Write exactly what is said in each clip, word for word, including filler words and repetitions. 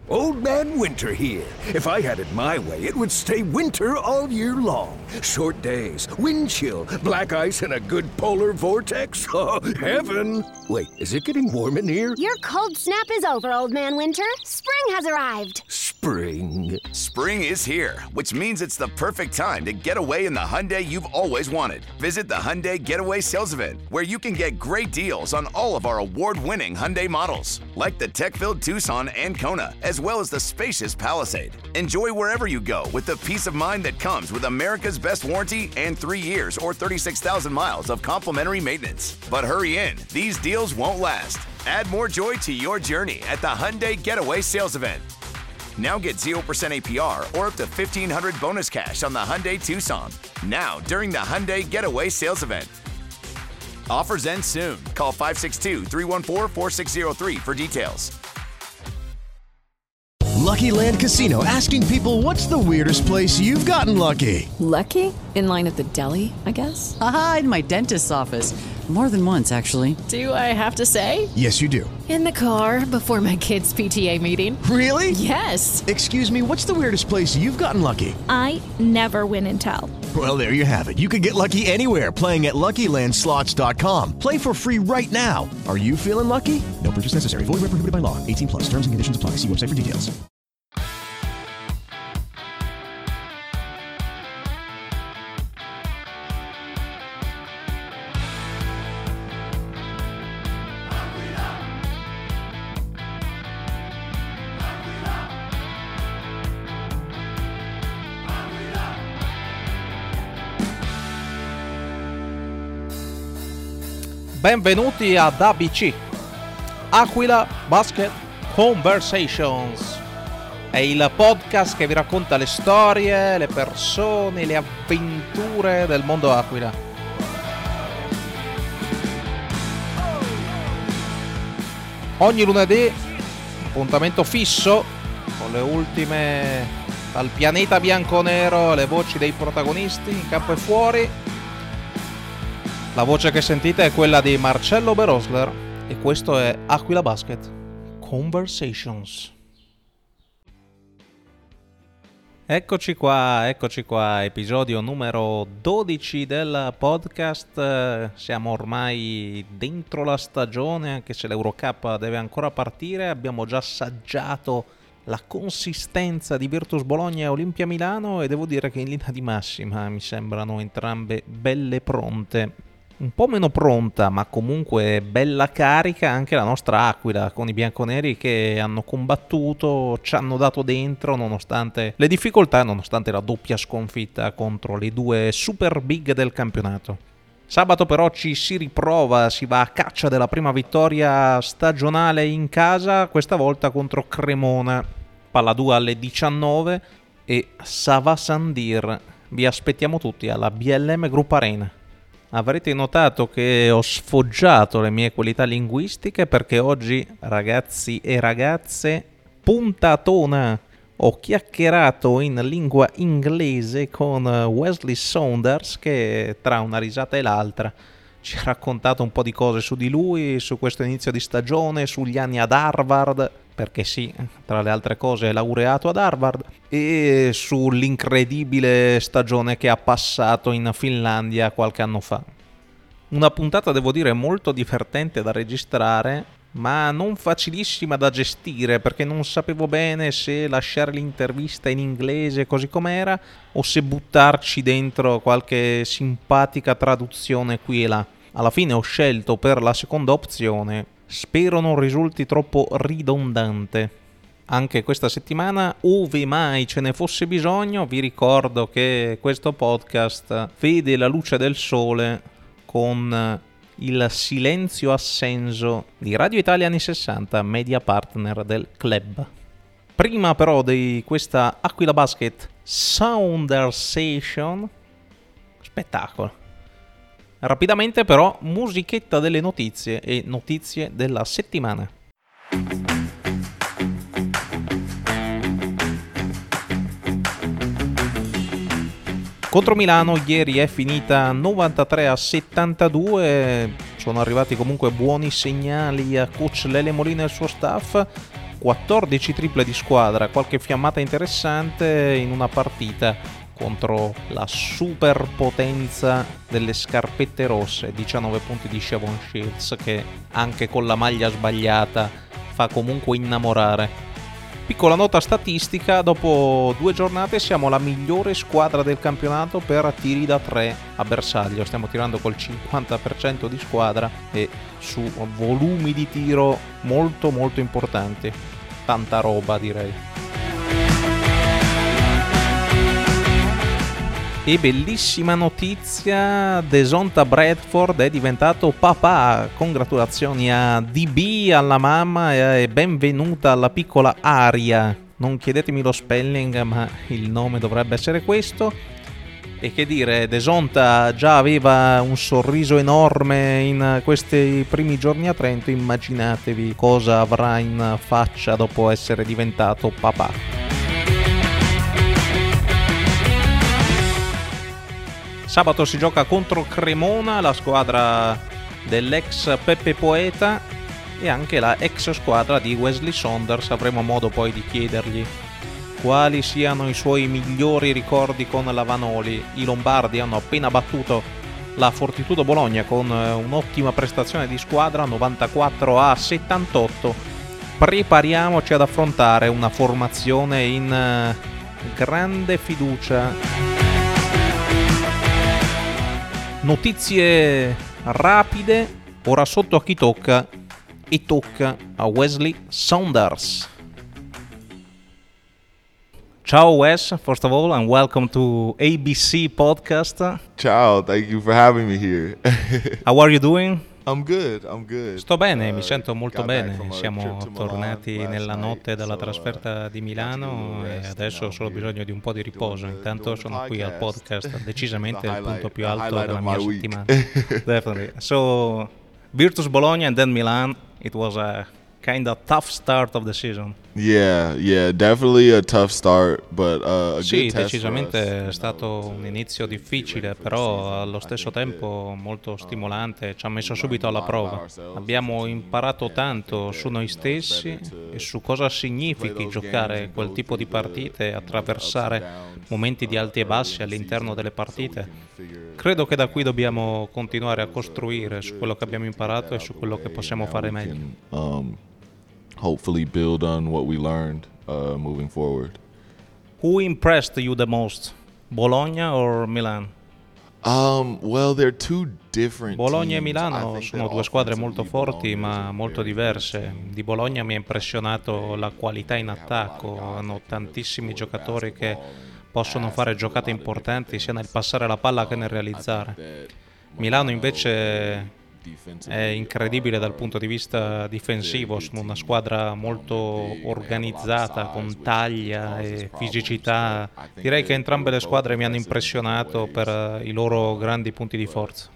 Old Man Winter here. If I had it my way, it would stay winter all year long. Short days, wind chill, black ice, and a good polar vortex. Oh, heaven! Wait, is it getting warm in here? Your cold snap is over, Old Man Winter. Spring has arrived. Spring. Spring is here, which means it's the perfect time to get away in the Hyundai you've always wanted. Visit the Hyundai Getaway Sales Event, where you can get great deals on all of our award-winning Hyundai models, like the tech-filled Tucson and Kona, as well as the spacious Palisade. Enjoy wherever you go with the peace of mind that comes with America's best warranty and three years or thirty-six thousand miles of complimentary maintenance. But hurry in, these deals won't last. Add more joy to your journey at the Hyundai Getaway Sales Event. Now get zero percent A P R or up to fifteen hundred dollars bonus cash on the Hyundai Tucson. Now, during the Hyundai Getaway Sales Event. Offers end soon. Call five six two, three one four, four six zero three for details. Lucky Land Casino, asking people, what's the weirdest place you've gotten lucky? Lucky? In line at the deli, I guess? Aha, in my dentist's office. More than once, actually. Do I have to say? Yes, you do. In the car before my kids' P T A meeting. Really? Yes. Excuse me, what's the weirdest place you've gotten lucky? I never win and tell. Well, there you have it. You can get lucky anywhere, playing at Lucky Land Slots dot com. Play for free right now. Are you feeling lucky? No purchase necessary. Void where prohibited by law. eighteen plus. Terms and conditions apply. See website for details. Benvenuti ad A B C, Aquila Basket Conversations. È il podcast che vi racconta le storie, le persone, le avventure del mondo Aquila. Ogni lunedì, appuntamento fisso con le ultime dal pianeta bianconero, le voci dei protagonisti in campo e fuori. La voce che sentite è quella di Marcello Berosler e questo è Aquila Basket Conversations. Eccoci qua, eccoci qua, episodio numero dodici del podcast. Siamo ormai dentro la stagione, anche se l'Eurocup deve ancora partire. Abbiamo già assaggiato la consistenza di Virtus Bologna e Olimpia Milano e devo dire che in linea di massima mi sembrano entrambe belle pronte. Un po' meno pronta, ma comunque bella carica anche la nostra Aquila, con i bianconeri che hanno combattuto, ci hanno dato dentro nonostante le difficoltà, nonostante la doppia sconfitta contro le due super big del campionato. Sabato però ci si riprova, si va a caccia della prima vittoria stagionale in casa, questa volta contro Cremona. Palla due alle diciannove e Sava Sandir. Vi aspettiamo tutti alla B L M Group Arena. Avrete notato che ho sfoggiato le mie qualità linguistiche perché oggi, ragazzi e ragazze, puntatona! Ho chiacchierato in lingua inglese con Wesley Saunders che tra una risata e l'altra ci ha raccontato un po' di cose su di lui, su questo inizio di stagione, sugli anni ad Harvard, perché sì, tra le altre cose è laureato ad Harvard, e sull'incredibile stagione che ha passato in Finlandia qualche anno fa. Una puntata, devo dire, molto divertente da registrare, ma non facilissima da gestire, perché non sapevo bene se lasciare l'intervista in inglese così com'era o se buttarci dentro qualche simpatica traduzione qui e là. Alla fine ho scelto per la seconda opzione. Spero non risulti troppo ridondante. Anche questa settimana, ove mai ce ne fosse bisogno, vi ricordo che questo podcast vede la luce del sole con il silenzio assenso di Radio Italia anni sessanta, media partner del club. Prima però di questa Aquila Basket Soundersation, spettacolo. Rapidamente però, musichetta delle notizie e notizie della settimana. Contro Milano ieri è finita novantatré a settantadue, sono arrivati comunque buoni segnali a coach Lele Molina e il suo staff. quattordici triple di squadra, qualche fiammata interessante in una partita contro la superpotenza delle scarpette rosse. Diciannove punti di Shavon Shields, che anche con la maglia sbagliata fa comunque innamorare. Piccola nota statistica: dopo due giornate siamo la migliore squadra del campionato per tiri da tre a bersaglio. Stiamo tirando col cinquanta per cento di squadra e su volumi di tiro molto molto importanti. Tanta roba, direi. E bellissima notizia, Desonta Bradford è diventato papà. Congratulazioni a D B, alla mamma, e benvenuta alla piccola Aria. Non chiedetemi lo spelling, ma il nome dovrebbe essere questo. E che dire, Desonta già aveva un sorriso enorme in questi primi giorni a Trento. Immaginatevi cosa avrà in faccia dopo essere diventato papà. Sabato si gioca contro Cremona, la squadra dell'ex Peppe Poeta e anche la ex squadra di Wesley Saunders. Avremo modo poi di chiedergli quali siano i suoi migliori ricordi con la Vanoli. I lombardi hanno appena battuto la Fortitudo Bologna con un'ottima prestazione di squadra, novantaquattro a settantotto. Prepariamoci ad affrontare una formazione in grande fiducia. Notizie rapide, ora sotto a chi tocca, e tocca a Wesley Saunders. Ciao Wes, first of all, and welcome to A B C Podcast. Ciao, thank you for having me here. How are you doing? I'm good, I'm good. Sto bene, mi sento molto bene. Siamo tornati nella notte dalla trasferta di Milano e adesso ho solo bisogno di un po' di riposo. Intanto sono qui al podcast, decisamente il punto più alto della mia settimana. Definitely. So, Virtus Bologna and then Milan, it was a kind of tough start of the season. Yeah, yeah, definitely a tough start, but uh, a sì, good test decisamente for us. è stato un inizio difficile, però allo stesso tempo molto stimolante. Ci ha messo subito alla prova. Abbiamo imparato tanto su noi stessi e su cosa significhi giocare quel tipo di partite, attraversare momenti di alti e bassi all'interno delle partite. Credo che da qui dobbiamo continuare a costruire su quello che abbiamo imparato e su quello che possiamo fare meglio. Um, hopefully build on what we learned uh, moving forward. Who impressed you the most, Bologna or Milan? Um, well, they're two different Bologna e teams. Milano sono due squadre molto forti ma molto diverse. Di Bologna mi ha impressionato la qualità in attacco, hanno tantissimi giocatori che possono fare giocate importanti sia nel passare la palla che nel realizzare. Milano invece è incredibile dal punto di vista difensivo, sono una squadra molto organizzata, con taglia e fisicità. Direi che entrambe le squadre mi hanno impressionato per i loro grandi punti di forza.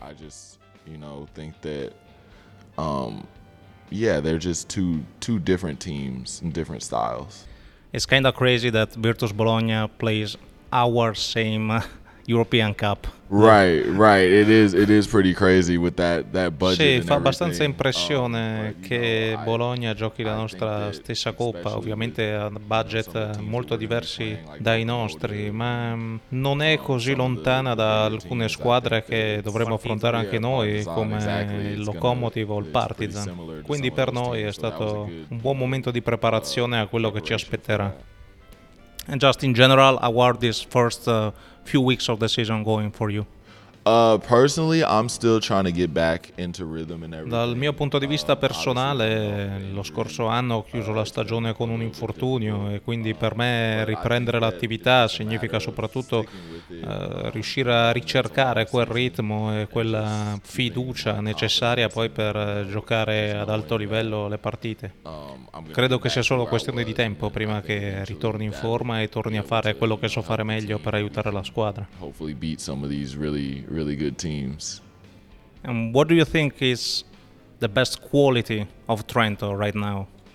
Um, yeah, they're just two two different teams and different styles. It's kind of crazy that Virtus Bologna plays our same European Cup. Right, right. It is it is pretty crazy with that that budget. Sì, fa abbastanza impressione um, che know, Bologna giochi la nostra stessa coppa, ovviamente a budget molto diversi dai nostri, ma non è così lontana da alcune squadre che dovremo affrontare anche noi, come il Lokomotiv o il Partizan. Quindi per noi è stato un buon momento di preparazione a quello che ci aspetterà. And just in general, how are these first uh, few weeks of the season going for you? Uh, personally, I'm still trying to get back into rhythm and everything. Dal mio punto di vista personale, lo scorso anno ho chiuso la stagione con un infortunio e quindi per me riprendere l'attività significa soprattutto uh, riuscire a ricercare quel ritmo e quella fiducia necessaria poi per giocare ad alto livello le partite. Credo che sia solo questione di tempo prima che ritorni in forma e torni a fare quello che so fare meglio per aiutare la squadra. Hopefully beat some of these really really good teams. And what do you think is the best quality of Trento right now?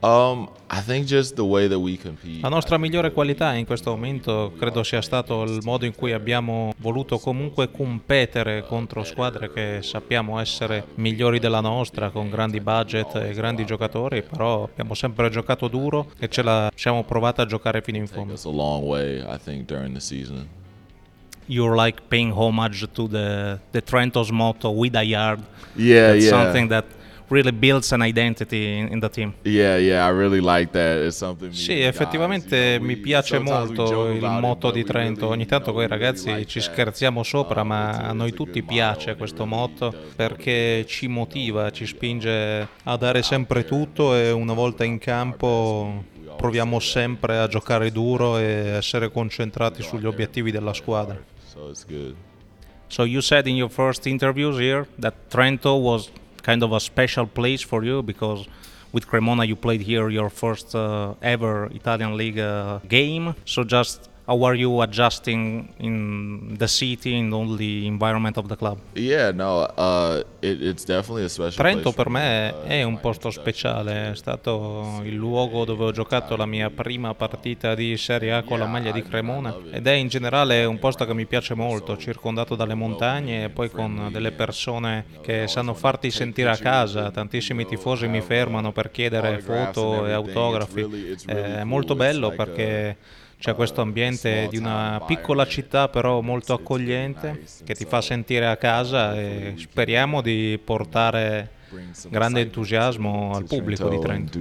Um, I think just the way that we compete. La nostra migliore qualità in questo momento credo sia stato il modo in cui abbiamo voluto comunque competere contro squadre che sappiamo essere migliori della nostra, con grandi budget e grandi giocatori, però abbiamo sempre giocato duro e ce la siamo provata a giocare fino in fondo. It's a long way, I think, during the season. You're like paying homage to the the Trento's motto, "We die hard." Yeah, That's yeah. something that really builds an identity in, in the team. Yeah, yeah, I really like that. It's something. Sì, effettivamente mi piace molto il motto di Trento. Ogni tanto con i ragazzi ci scherziamo sopra, ma a noi tutti piace questo motto perché ci motiva, ci spinge a dare sempre tutto e una volta in campo proviamo sempre a giocare duro e essere concentrati sugli obiettivi della squadra. So it's good. So you said in your first interviews here that Trento was kind of a special place for you because with Cremona you played here your first uh, ever Italian League uh, game. So just how are you adjusting in the city and all the environment of the club? Yeah, no, uh, it, it's definitely a special Trento place per for me me. è un posto speciale, è stato il luogo dove ho giocato la mia prima partita di Serie A con la maglia di Cremona ed è in generale un posto che mi piace molto, circondato dalle montagne e poi con delle persone che sanno farti sentire a casa. Tantissimi tifosi mi fermano per chiedere foto e autografi, è molto bello perché c'è questo ambiente di una piccola città però molto accogliente che ti fa sentire a casa e speriamo di portare grande entusiasmo al pubblico di Trento.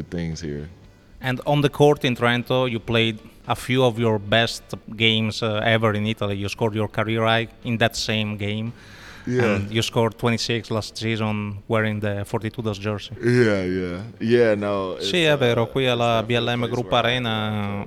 And on the court in Trento you played a few of your best games uh, ever in Italy. You scored your career high in that same game. Yeah. And you scored twenty-six last season wearing the forty-two Dust jersey. Yeah, yeah. Yeah, no. Sì, è vero, qui alla B L M Group Arena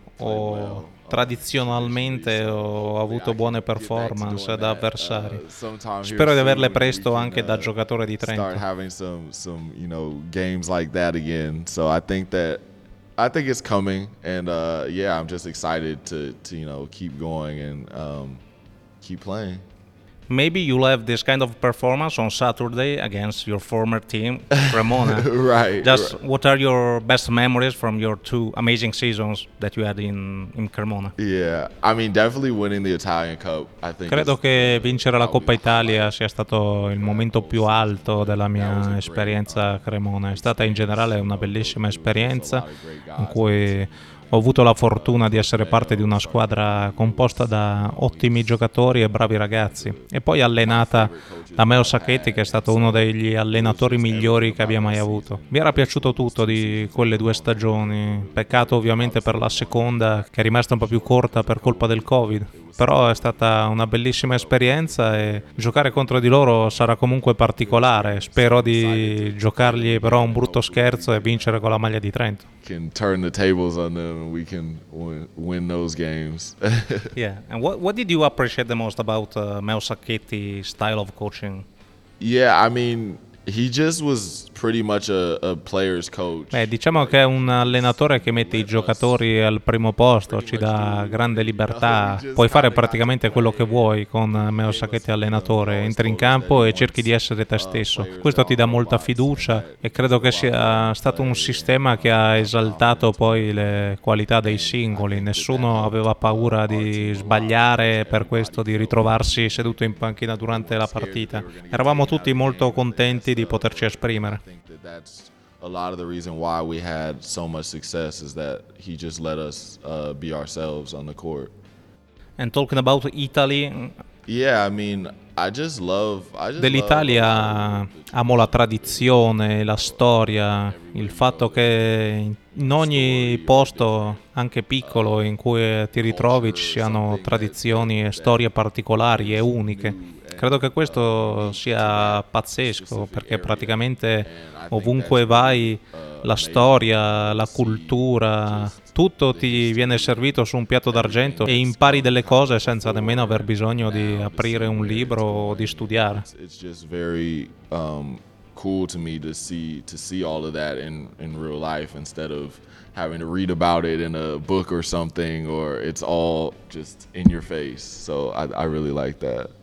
ho tradizionalmente ho avuto buone performance da avversari. Spero di averle presto anche da giocatore di Trento. Start having some some, you know, games like that again. So I think that I think it's coming and uh yeah, I'm just excited to to you know, keep going and um keep playing. Maybe you'll have this kind of performance on Saturday against your former team, Cremona. Right. Just right. what are your best memories from your two amazing seasons that you had in, in Cremona? Yeah, I mean definitely winning the Italian Cup. I think Credo che vincere la Coppa Italia sia stato il momento più alto della mia esperienza a Cremona. È stata in generale una bellissima esperienza in cui ho avuto la fortuna di essere parte di una squadra composta da ottimi giocatori e bravi ragazzi e poi allenata da Meo Sacchetti, che è stato uno degli allenatori migliori che abbia mai avuto. Mi era piaciuto tutto di quelle due stagioni, peccato ovviamente per la seconda che è rimasta un po' più corta per colpa del Covid, però è stata una bellissima esperienza e giocare contro di loro sarà comunque particolare. Spero di giocargli però un brutto scherzo e vincere con la maglia di Trento. Can turn the tables on them and we can win, win those games. Yeah, and what what did you appreciate the most about uh, Meo Sacchetti style of coaching? Yeah, I mean, he just was pretty much a, a player's coach. Beh, diciamo che è un allenatore che mette i giocatori al primo posto, ci dà grande libertà, puoi fare praticamente quello che vuoi con Meo Sacchetti allenatore, entri in campo e cerchi di essere te stesso. Questo ti dà molta fiducia e credo che sia stato un sistema che ha esaltato poi le qualità dei singoli, nessuno aveva paura di sbagliare, per questo di ritrovarsi seduto in panchina durante la partita. Eravamo tutti molto contenti di poterci esprimere. I think that that's a lot of the reason why we had so much success is that he just let us uh, be ourselves on the court. And talking about Italy, yeah, I mean, I just love I just dell'Italia amo la tradizione, la storia, il fatto che in ogni posto, anche piccolo, in cui ti ritrovi ci siano tradizioni e storie particolari e uniche. Credo che questo sia pazzesco perché praticamente ovunque vai la storia, la cultura, tutto ti viene servito su un piatto d'argento e impari delle cose senza nemmeno aver bisogno di aprire un libro o di studiare. It's just very um, cool to me to see to see all of that in in real life instead of having to read about it in a book or something, or it's all just in your face. So I, I really like that.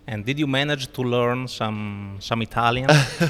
And did you manage to learn some some Italian?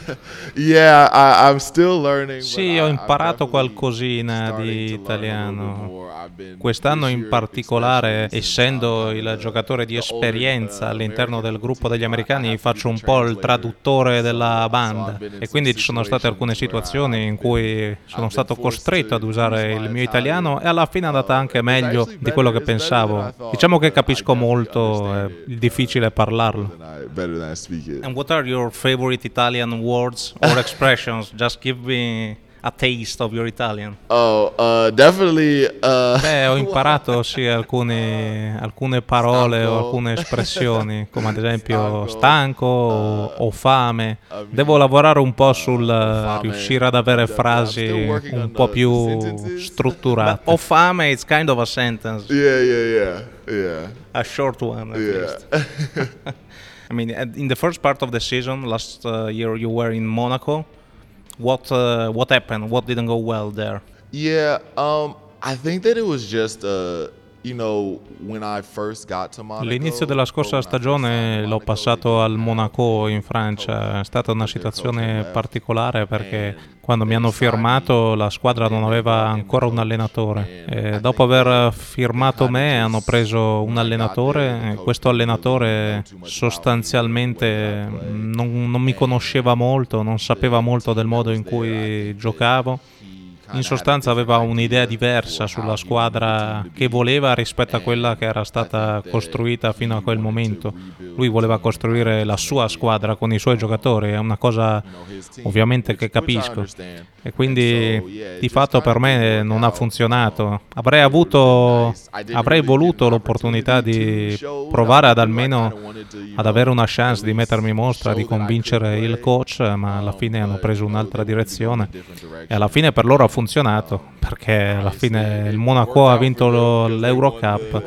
Yeah, I, I'm still learning. Sì, ho imparato qualcosina di italiano. Quest'anno in particolare, essendo il giocatore di esperienza all'interno del gruppo degli americani, faccio un po' il traduttore della banda e quindi ci sono state alcune situazioni in cui sono stato costretto ad usare il mio italiano e alla fine è andata anche meglio di quello che pensavo. Diciamo che capisco molto, è difficile parlarlo. Better than I speak it. And what are your favorite Italian words or expressions? Just give me a taste of your Italian. Oh, uh, definitely. Uh, Beh, ho imparato sì alcune, alcune parole o alcune espressioni, come ad esempio stanco o, o fame. Devo lavorare un po' sul uh, riuscire ad avere frasi un po' più strutturate. Ho fame, it's kind of a sentence. Yeah, yeah, yeah, yeah. A short one, at Yeah. least. I mean, in the first part of the season, last uh, year you were in Monaco. What uh, what happened? What didn't go well there? Yeah, um, I think that it was just, uh, you know, when I first got to Monaco. L'inizio della scorsa stagione l'ho passato al Monaco in Francia. È stata una situazione particolare perché quando mi hanno firmato la squadra non aveva ancora un allenatore. E dopo aver firmato me hanno preso un allenatore e questo allenatore sostanzialmente non, non mi conosceva molto, non sapeva molto del modo in cui giocavo. In sostanza aveva un'idea diversa sulla squadra che voleva rispetto a quella che era stata costruita fino a quel momento. Lui voleva costruire la sua squadra con i suoi giocatori, è una cosa ovviamente che capisco. E quindi di fatto per me non ha funzionato. Avrei avuto, avrei voluto l'opportunità di provare ad almeno ad avere una chance di mettermi in mostra, di convincere il coach, ma alla fine hanno preso un'altra direzione e alla fine per loro ha funzionato perché alla fine il Monaco ha vinto lo, l'Eurocup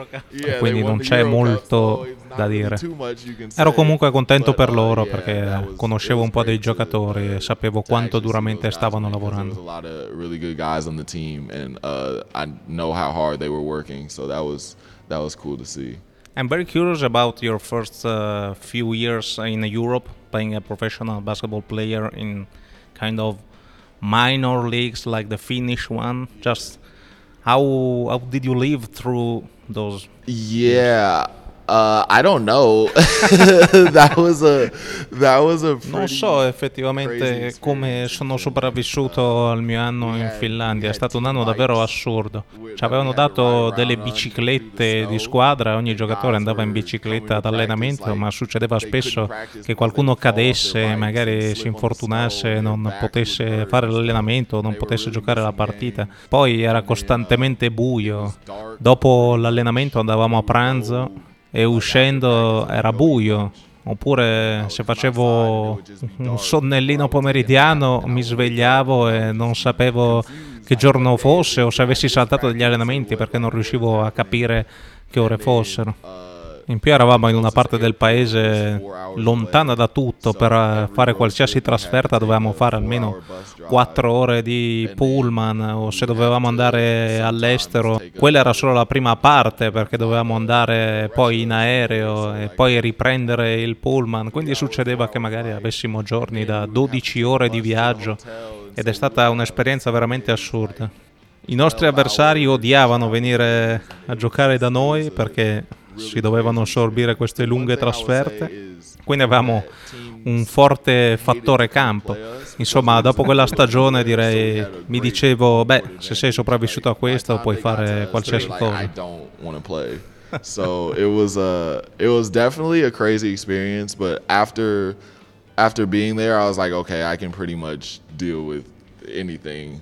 e quindi non c'è molto da dire. Ero comunque contento per loro perché conoscevo un po' dei giocatori e sapevo quanto duramente stavano lavorando. I'm very curious about your first uh, few years in Europe, playing a professional basketball player in kind of minor leagues like the Finnish one. Just how how did you live through those? Yeah. Uh, I don't know. that was a that was a Non so effettivamente come sono sopravvissuto al mio anno in Finlandia, è stato un anno davvero assurdo. Ci avevano dato delle biciclette di squadra, ogni giocatore andava in bicicletta ad allenamento, ma succedeva spesso che qualcuno cadesse, magari si infortunasse, non potesse fare l'allenamento, non potesse giocare la partita. Poi era costantemente buio. Dopo l'allenamento andavamo a pranzo e uscendo era buio, oppure se facevo un sonnellino pomeridiano mi svegliavo e non sapevo che giorno fosse o se avessi saltato degli allenamenti perché non riuscivo a capire che ore fossero. In più eravamo in una parte del paese lontana da tutto, per fare qualsiasi trasferta dovevamo fare almeno quattro ore di pullman, o se dovevamo andare all'estero quella era solo la prima parte perché dovevamo andare poi in aereo e poi riprendere il pullman, quindi succedeva che magari avessimo giorni da dodici ore di viaggio ed è stata un'esperienza veramente assurda. I nostri avversari odiavano venire a giocare da noi perché si dovevano assorbire queste lunghe trasferte, quindi avevamo un forte fattore campo. Insomma, dopo quella stagione direi, mi dicevo, beh, se sei sopravvissuto a questo puoi fare qualsiasi cosa. So it was a it was definitely a crazy experience, but after after being there I was like, okay, I can pretty much deal with anything.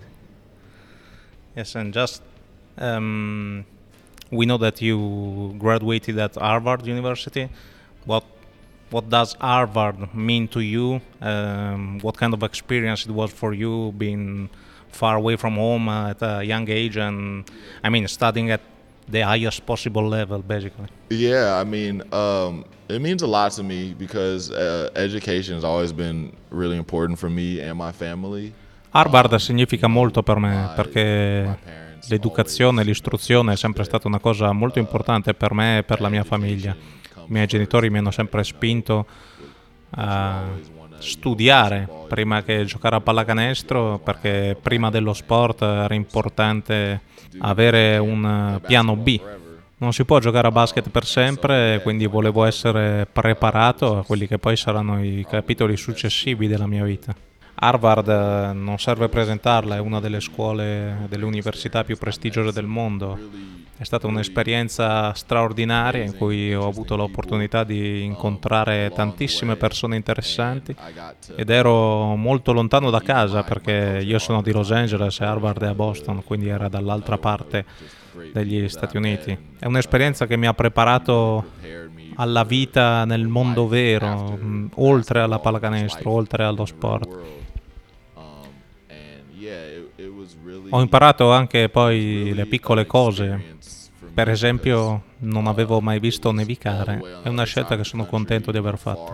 Yes, and just um we know that you graduated at Harvard University. What what does Harvard mean to you? Um, what kind of experience it was for you being far away from home at a young age and, I mean, studying at the highest possible level, basically? Yeah, I mean, um, it means a lot to me because uh, education has always been really important for me and my family. Harvard significa molto per me perché l'educazione, l'istruzione è sempre stata una cosa molto importante per me e per la mia famiglia. I miei genitori mi hanno sempre spinto a studiare prima che giocare a pallacanestro, perché prima dello sport era importante avere un piano B. Non si può giocare a basket per sempre, quindi volevo essere preparato a quelli che poi saranno i capitoli successivi della mia vita. Harvard, non serve presentarla, è una delle scuole, delle università più prestigiose del mondo. È stata un'esperienza straordinaria in cui ho avuto l'opportunità di incontrare tantissime persone interessanti ed ero molto lontano da casa perché io sono di Los Angeles e Harvard è a Boston, quindi era dall'altra parte degli Stati Uniti. È un'esperienza che mi ha preparato alla vita nel mondo vero, mh, oltre alla pallacanestro, oltre allo sport. Ho imparato anche poi le piccole cose. Per esempio, non avevo mai visto nevicare. È una scelta che sono contento di aver fatto.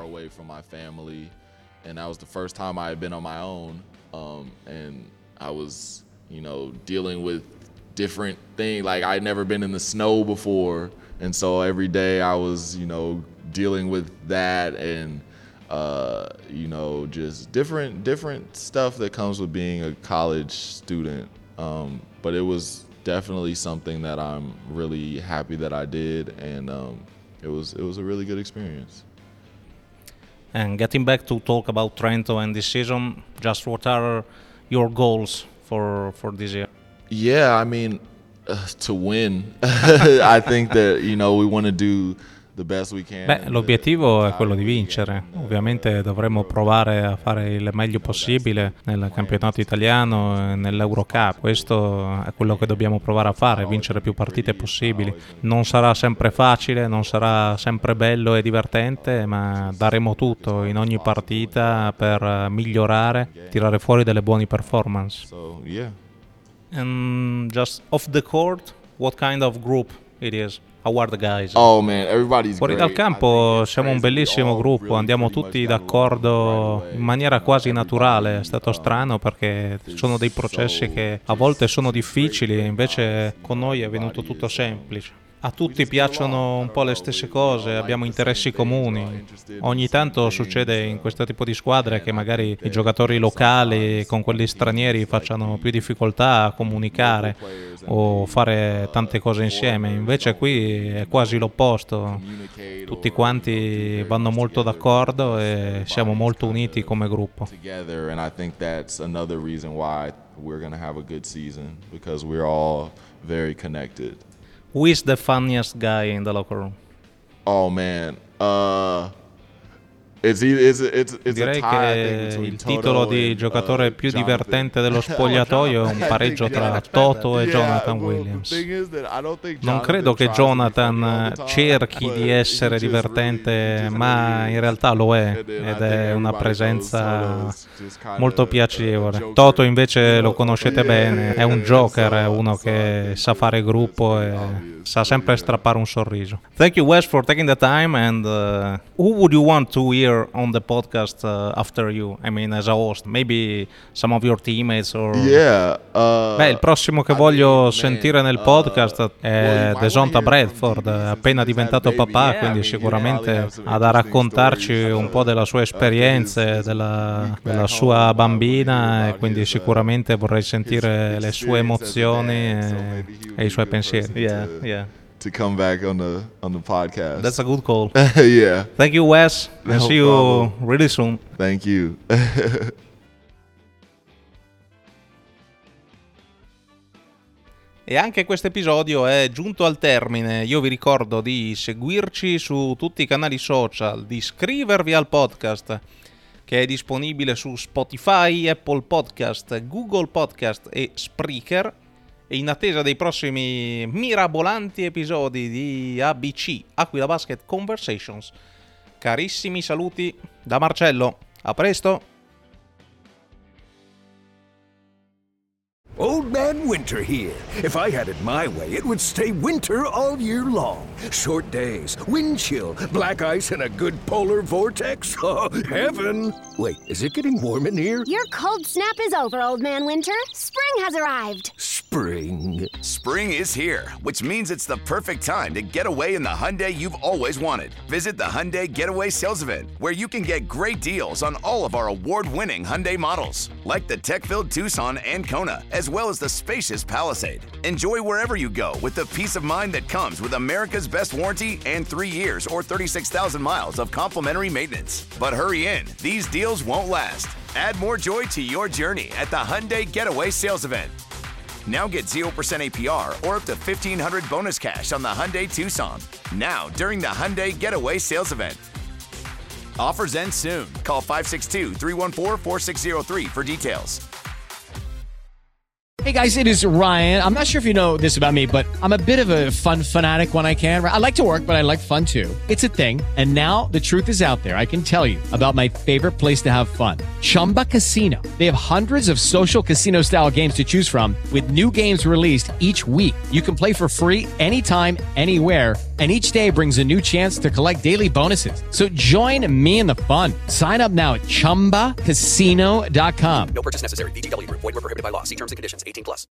Different thing, like I'd never been in the snow before, and so every day I was, you know, dealing with that and uh, you know, just different different stuff that comes with being a college student. Um, but it was definitely something that I'm really happy that I did, and um, it was it was a really good experience. And getting back to talk about Trento and this season, just what are your goals for for this year? Yeah, I mean, uh, to win. I think that, you know, we want to do the best we can. Beh, l'obiettivo è quello di vincere. Ovviamente dovremo provare a fare il meglio possibile nel campionato italiano e nell'Eurocup. Questo è quello che dobbiamo provare a fare, vincere più partite possibili. Non sarà sempre facile, non sarà sempre bello e divertente, ma daremo tutto in ogni partita per migliorare, tirare fuori delle buone performance. So, yeah. And just off the court, what kind of group it is? How are the guys? Oh man, everybody's Fuori dal campo siamo un bellissimo gruppo, andiamo tutti d'accordo in maniera quasi naturale. È stato strano perché sono dei processi che a volte sono difficili e invece con noi è venuto tutto semplice. A tutti piacciono un po' le stesse cose, abbiamo interessi comuni. Ogni tanto succede in questo tipo di squadre che magari i giocatori locali con quelli stranieri facciano più difficoltà a comunicare o fare tante cose insieme. Invece qui è quasi l'opposto. Tutti quanti vanno molto d'accordo e siamo molto uniti come gruppo. Who is the funniest guy in the locker room? Oh man, uh, it's, it's, it's, it's direi che il titolo di giocatore più divertente dello spogliatoio è un pareggio tra Toto e Jonathan Williams. Non credo che Jonathan cerchi di essere divertente, ma in realtà lo è ed è una presenza molto piacevole. Toto invece lo conoscete bene, è un joker, è uno che sa fare gruppo e sa sempre strappare un sorriso. Thank you, Wes, for taking the time. And uh, who would you want to hear on the podcast uh, after you? I mean, as a host, maybe some of your teammates or... Yeah. Uh, Beh, il prossimo che voglio sentire nel podcast è Desonta Bradford, appena diventato papà, quindi sicuramente ha da raccontarci un po' della sua esperienza, della, della sua bambina, e quindi sicuramente vorrei sentire le sue emozioni e, e i suoi pensieri. Yeah, yeah. To come back on the on the podcast. That's a good call. Yeah. Thank you, Wes. No and see you problem. really soon. Thank you. E anche questo episodio è giunto al termine. Io vi ricordo di seguirci su tutti i canali social, di iscrivervi al podcast che è disponibile su Spotify, Apple Podcast, Google Podcast e Spreaker. E in attesa dei prossimi mirabolanti episodi di A B C, Aquila Basket Conversations, carissimi saluti da Marcello. A presto! Old Man Winter here. If I had it my way, it would stay winter all year long. Short days, wind chill, black ice, and a good polar vortex. Oh, heaven! Wait, is it getting warm in here? Your cold snap is over, Old Man Winter. Spring has arrived. spring. Spring is here, which means it's the perfect time to get away in the Hyundai you've always wanted. Visit the Hyundai Getaway Sales Event, where you can get great deals on all of our award-winning Hyundai models, like the tech-filled Tucson and Kona, as well as the spacious Palisade. Enjoy wherever you go with the peace of mind that comes with America's best warranty and three years or thirty-six thousand miles of complimentary maintenance. But hurry in, these deals won't last. Add more joy to your journey at the Hyundai Getaway Sales Event. Now get zero percent A P R or up to fifteen hundred dollars bonus cash on the Hyundai Tucson. Now, during the Hyundai Getaway Sales Event. Offers end soon. Call five six two, three one four, four six zero three for details. Hey guys, it is Ryan. I'm not sure if you know this about me, but I'm a bit of a fun fanatic when I can. I like to work, but I like fun too. It's a thing. And now the truth is out there. I can tell you about my favorite place to have fun. Chumba Casino. They have hundreds of social casino style games to choose from with new games released each week. You can play for free anytime, anywhere. And each day brings a new chance to collect daily bonuses. So join me in the fun. Sign up now at chumba casino dot com. No purchase necessary. V G W Group. Void where prohibited by law. See terms and conditions. eighteen plus.